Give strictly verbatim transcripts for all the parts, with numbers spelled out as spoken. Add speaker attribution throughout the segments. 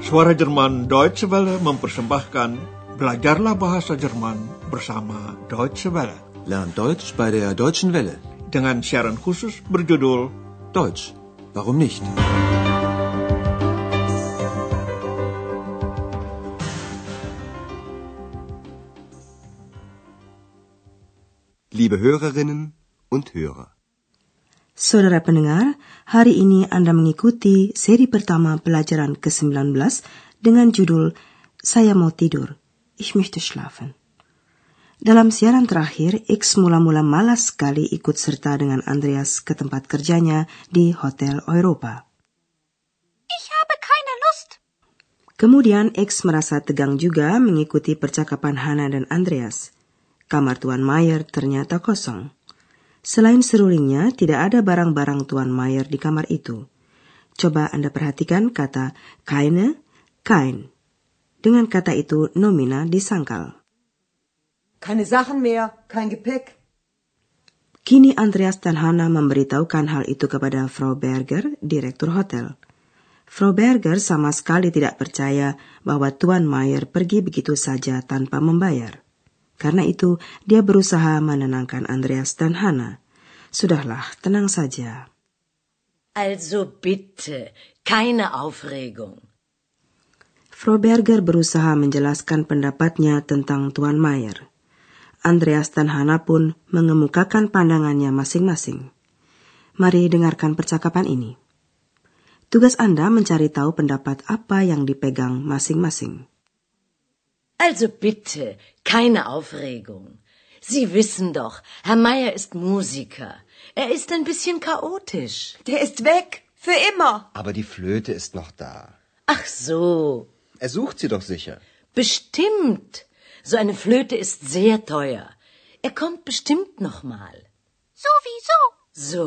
Speaker 1: Suara Jerman Deutsche Welle mempersembahkan Belajarlah Bahasa Jerman bersama Deutsche Welle.
Speaker 2: Lern Deutsch bei der Deutschen Welle.
Speaker 1: Dengan siaran khusus berjudul
Speaker 2: Deutsch, warum nicht? Liebe Hörerinnen und Hörer.
Speaker 3: Saudara pendengar, hari ini Anda mengikuti seri pertama pelajaran ke sembilan belas dengan judul Saya Mau Tidur, Ich möchte schlafen. Dalam siaran terakhir, X mula-mula malas sekali ikut serta dengan Andreas ke tempat kerjanya di Hotel Europa.
Speaker 4: Ich habe keine Lust.
Speaker 3: Kemudian X merasa tegang juga mengikuti percakapan Hana dan Andreas. Kamar Tuan Mayer ternyata kosong. Selain serulingnya, tidak ada barang-barang Tuan Mayer di kamar itu. Coba Anda perhatikan kata keine, kein. Dengan kata itu nomina disangkal.
Speaker 5: Keine Sachen mehr, kein Gepäck.
Speaker 3: Kini Andreas dan Hana memberitahukan hal itu kepada Frau Berger, direktur hotel. Frau Berger sama sekali tidak percaya bahwa Tuan Mayer pergi begitu saja tanpa membayar. Karena itu, dia berusaha menenangkan Andreas dan Hana. Sudahlah, tenang saja.
Speaker 6: Also bitte, keine Aufregung.
Speaker 3: Frau Berger berusaha menjelaskan pendapatnya tentang Tuan Mayer. Andreas dan Hana pun mengemukakan pandangannya masing-masing. Mari dengarkan percakapan ini. Tugas Anda mencari tahu pendapat apa yang dipegang masing-masing.
Speaker 6: Also bitte, keine Aufregung. Sie wissen doch, Herr Mayer ist Musiker. Er ist ein bisschen chaotisch.
Speaker 5: Der ist weg, für immer.
Speaker 7: Aber die Flöte ist noch da.
Speaker 6: Ach so.
Speaker 7: Er sucht sie doch sicher.
Speaker 6: Bestimmt. So eine Flöte ist sehr teuer. Er kommt bestimmt noch mal.
Speaker 4: Sowieso.
Speaker 6: So?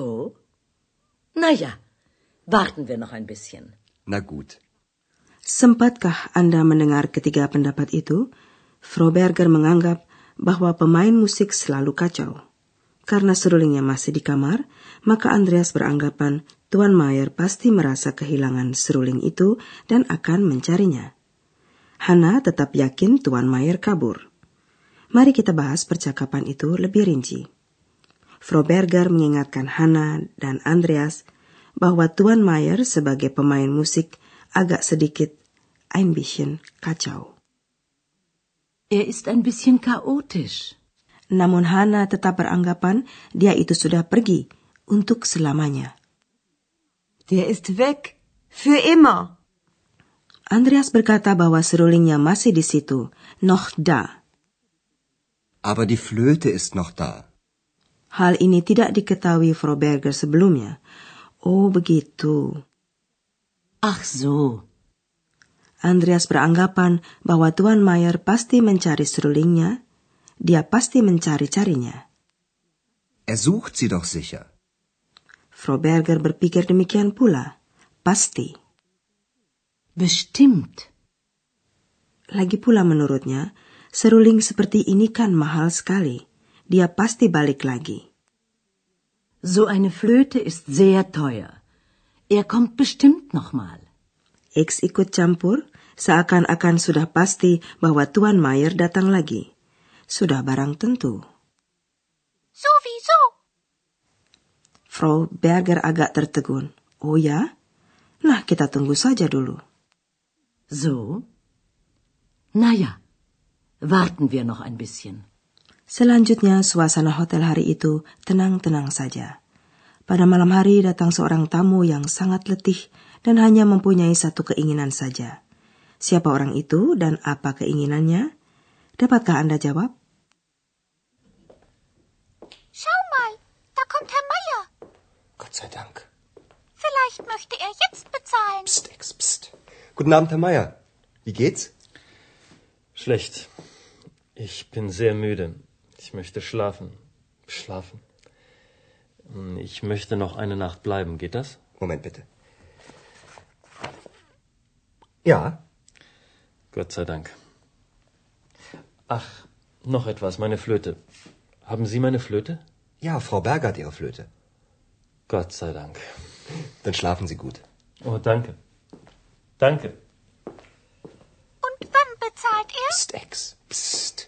Speaker 6: Na ja, warten wir noch ein bisschen.
Speaker 7: Na gut.
Speaker 3: Sempatkah Anda mendengar ketiga pendapat itu? Frau Berger menganggap bahwa pemain musik selalu kacau. Karena serulingnya masih di kamar, maka Andreas beranggapan Tuan Mayer pasti merasa kehilangan seruling itu dan akan mencarinya. Hana tetap yakin Tuan Mayer kabur. Mari kita bahas percakapan itu lebih rinci. Frau Berger mengingatkan Hana dan Andreas bahwa Tuan Mayer sebagai pemain musik agak sedikit ein bisschen kacau.
Speaker 6: Er ist ein bisschen chaotisch.
Speaker 3: Namun Hana tetap beranggapan dia itu sudah pergi untuk selamanya.
Speaker 5: Der ist weg, für immer.
Speaker 3: Andreas berkata bahwa serulingnya masih di situ, noch da.
Speaker 7: Aber die Flöte ist noch da.
Speaker 3: Hal ini tidak diketahui Frau Berger sebelumnya. Oh, begitu.
Speaker 6: Ach so.
Speaker 3: Andreas beranggapan bahwa Tuan Mayer pasti mencari serulingnya. Dia pasti mencari-carinya.
Speaker 7: Er sucht sie doch sicher.
Speaker 3: Frau Berger berpikir demikian pula. Pasti.
Speaker 6: Bestimmt.
Speaker 3: Lagi pula menurutnya, seruling seperti ini kan mahal sekali. Dia pasti balik lagi.
Speaker 6: So eine Flöte ist sehr teuer. Er kommt bestimmt noch mal.
Speaker 3: X ikut campur, seakan-akan sudah pasti bahwa Tuan Mayer datang lagi. Sudah barang tentu.
Speaker 4: Sowieso.
Speaker 3: Frau Berger agak tertegun. Oh ya? Nah, kita tunggu saja dulu.
Speaker 6: So? Na ja, warten wir noch ein bisschen.
Speaker 3: Selanjutnya, suasana hotel hari itu tenang-tenang saja. Pada malam hari datang seorang tamu yang sangat letih dan hanya mempunyai satu keinginan saja. Siapa orang itu dan apa keinginannya? Dapatkah Anda jawab?
Speaker 4: Schau mal, da kommt Herr Mayer.
Speaker 7: Gott sei Dank.
Speaker 4: Vielleicht möchte er jetzt bezahlen.
Speaker 7: Psst, Ex, psst. Guten Abend, Herr Mayer. Wie geht's?
Speaker 8: Schlecht. Ich bin sehr müde. Ich möchte schlafen. Schlafen. Ich möchte noch eine Nacht bleiben. Geht das?
Speaker 7: Moment bitte. Ja.
Speaker 8: Gott sei Dank. Ach, noch etwas, meine Flöte. Haben Sie meine Flöte?
Speaker 7: Ja, Frau Berger hat Ihre Flöte.
Speaker 8: Gott sei Dank.
Speaker 7: Dann schlafen Sie gut.
Speaker 8: Oh, danke. Danke.
Speaker 9: Psst, Ex, psst.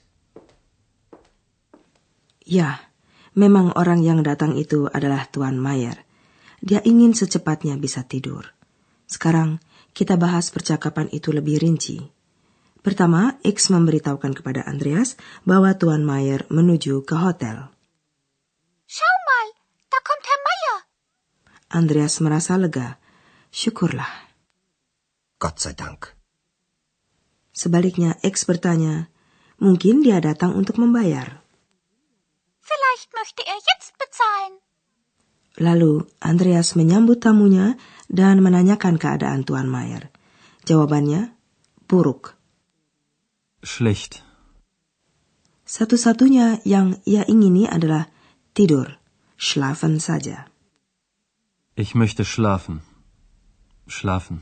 Speaker 3: Ya, memang orang yang datang itu adalah Tuan Mayer. Dia ingin secepatnya bisa tidur. Sekarang kita bahas percakapan itu lebih rinci. Pertama, X memberitahukan kepada Andreas bahwa Tuan Mayer menuju ke hotel.
Speaker 4: Schau mal, da kommt Herr Mayer.
Speaker 3: Andreas merasa lega. Syukurlah.
Speaker 7: Gott sei Dank.
Speaker 3: Sebaliknya, X bertanya, mungkin dia datang untuk membayar.
Speaker 4: Vielleicht möchte er jetzt bezahlen.
Speaker 3: Lalu, Andreas menyambut tamunya dan menanyakan keadaan Tuan Mayer. Jawabannya, buruk.
Speaker 8: Schlecht.
Speaker 3: Satu-satunya yang ia ingini adalah tidur, schlafen saja.
Speaker 8: Ich möchte schlafen. Schlafen.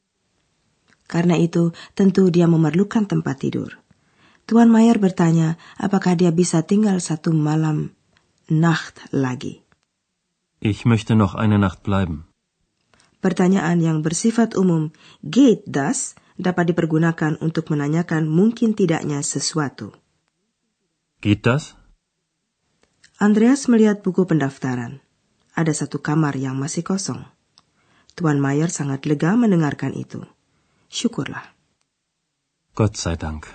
Speaker 3: Karena itu, tentu dia memerlukan tempat tidur. Tuan Mayer bertanya apakah dia bisa tinggal satu malam Nacht lagi.
Speaker 8: Ich möchte noch eine Nacht bleiben.
Speaker 3: Pertanyaan yang bersifat umum, geht das, dapat dipergunakan untuk menanyakan mungkin tidaknya sesuatu.
Speaker 8: Geht das?
Speaker 3: Andreas melihat buku pendaftaran. Ada satu kamar yang masih kosong. Tuan Mayer sangat lega mendengarkan itu. Syukurlah.
Speaker 8: Gott sei Dank.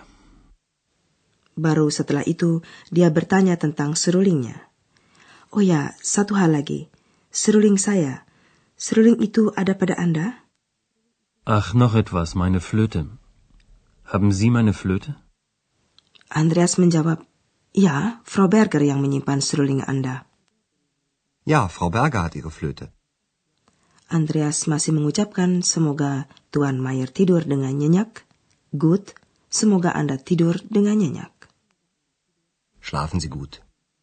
Speaker 3: Baru setelah itu, dia bertanya tentang serulingnya. Oh ya, satu hal lagi. Seruling saya. Seruling itu ada pada Anda?
Speaker 8: Ach, noch etwas, meine Flöte. Haben Sie meine Flöte?
Speaker 3: Andreas menjawab, ya, Frau Berger yang menyimpan seruling Anda.
Speaker 7: Ja, Frau Berger hat ihre Flöte.
Speaker 3: Andreas masih mengucapkan semoga Tuan Mayer tidur dengan nyenyak. Gut, semoga Anda tidur dengan nyenyak.
Speaker 7: Schlafen Sie gut.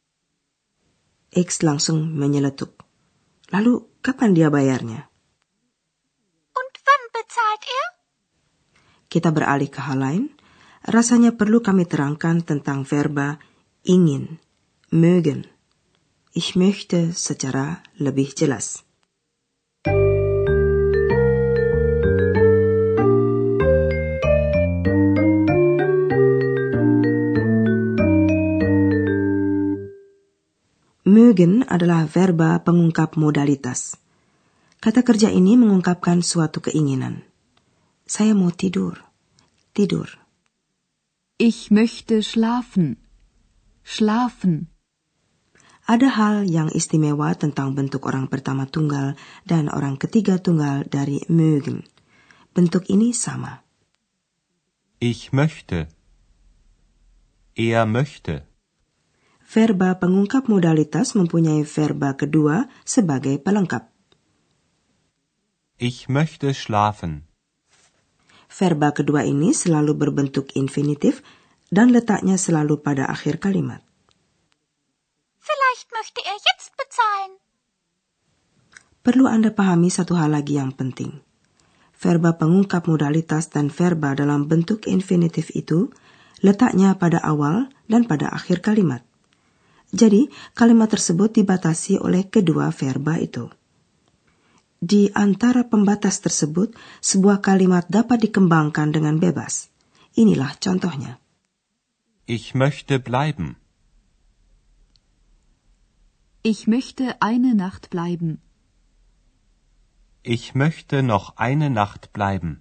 Speaker 3: X langsung menyeletuk. Lalu, kapan dia bayarnya?
Speaker 4: Und wann bezahlt er?
Speaker 3: Kita beralih ke hal lain. Rasanya perlu kami terangkan tentang verba ingin, mögen. Ich möchte secara lebih jelas. Mögen adalah verba pengungkap modalitas. Kata kerja ini mengungkapkan suatu keinginan. Saya mau tidur. Tidur.
Speaker 10: Ich möchte schlafen. Schlafen.
Speaker 3: Ada hal yang istimewa tentang bentuk orang pertama tunggal dan orang ketiga tunggal dari mögen. Bentuk ini sama.
Speaker 9: Ich möchte. Er möchte.
Speaker 3: Verba pengungkap modalitas mempunyai verba kedua sebagai pelengkap.
Speaker 9: Ich möchte schlafen.
Speaker 3: Verba kedua ini selalu berbentuk infinitif dan letaknya selalu pada akhir kalimat.
Speaker 4: Vielleicht möchte er jetzt bezahlen.
Speaker 3: Perlu Anda pahami satu hal lagi yang penting. Verba pengungkap modalitas dan verba dalam bentuk infinitif itu letaknya pada awal dan pada akhir kalimat. Jadi, kalimat tersebut dibatasi oleh kedua verba itu. Di antara pembatas tersebut, sebuah kalimat dapat dikembangkan dengan bebas. Inilah contohnya.
Speaker 9: Ich möchte bleiben.
Speaker 10: Ich möchte eine Nacht bleiben.
Speaker 9: Ich möchte noch eine Nacht bleiben.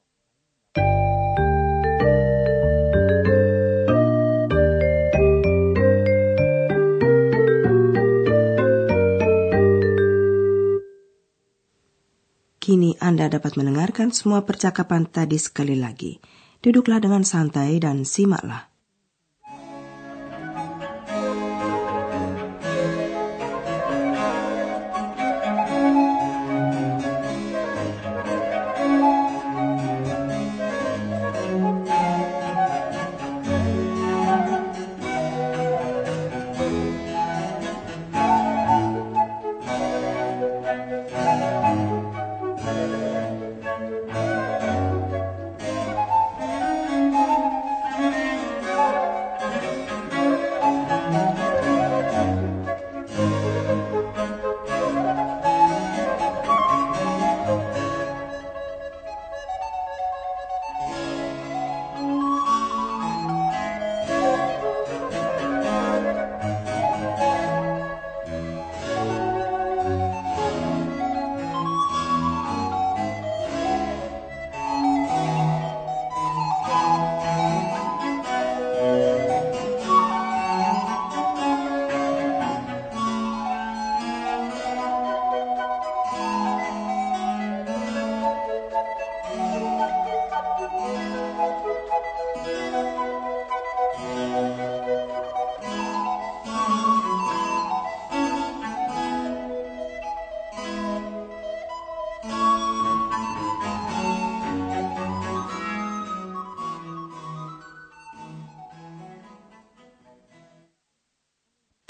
Speaker 3: Kini Anda dapat mendengarkan semua percakapan tadi sekali lagi. Duduklah dengan santai dan simaklah.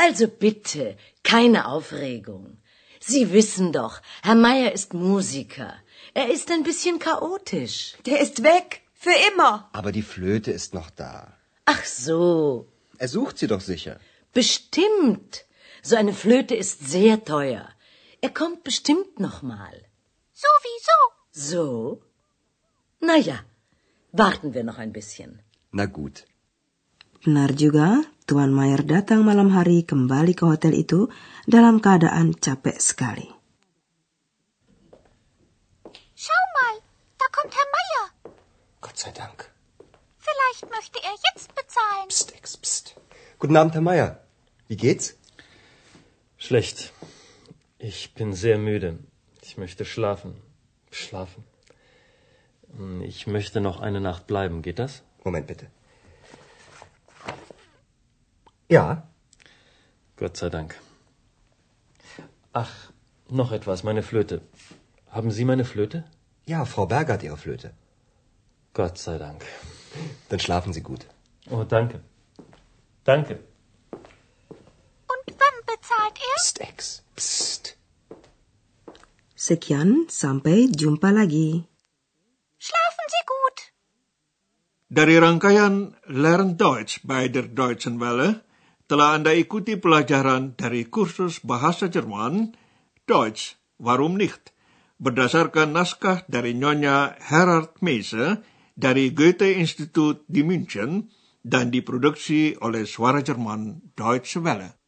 Speaker 6: Also bitte, keine Aufregung. Sie wissen doch, Herr Meier ist Musiker. Er ist ein bisschen chaotisch.
Speaker 5: Der ist weg. Für immer.
Speaker 7: Aber die Flöte ist noch da.
Speaker 6: Ach so.
Speaker 7: Er sucht sie doch sicher.
Speaker 6: Bestimmt. So eine Flöte ist sehr teuer. Er kommt bestimmt noch mal.
Speaker 4: Sowieso.
Speaker 6: So? Na ja, warten wir noch ein bisschen.
Speaker 7: Na gut.
Speaker 3: Benar juga, Tuan Mayer datang malam hari kembali ke hotel itu dalam keadaan capek sekali.
Speaker 4: Schau mal, da kommt Herr Meier.
Speaker 7: Gott sei Dank.
Speaker 4: Vielleicht möchte er jetzt bezahlen.
Speaker 7: Psst, Ex, psst. Guten Abend, Herr Meier. Wie geht's?
Speaker 8: Schlecht. Ich bin sehr müde. Ich möchte schlafen. Schlafen. Ich möchte noch eine Nacht bleiben. Geht das?
Speaker 7: Moment bitte. Ja.
Speaker 8: Gott sei Dank. Ach, noch etwas, meine Flöte. Haben Sie meine Flöte?
Speaker 7: Ja, Frau Berger hat Ihre Flöte.
Speaker 8: Gott sei Dank.
Speaker 7: Dann schlafen Sie gut.
Speaker 8: Oh, danke. Danke.
Speaker 4: Und wann bezahlt er?
Speaker 7: Psst, Ex. Psst.
Speaker 3: Sekian, sampai jumpa lagi.
Speaker 4: Schlafen Sie gut.
Speaker 1: Dari rangkaian Learn Deutsch bei der Deutschen Welle, telah Anda ikuti pelajaran dari kursus bahasa Jerman, Deutsch, warum nicht, berdasarkan naskah dari Nyonya Herard Meise dari Goethe-Institut di München dan diproduksi oleh Suara Jerman Deutsche Welle.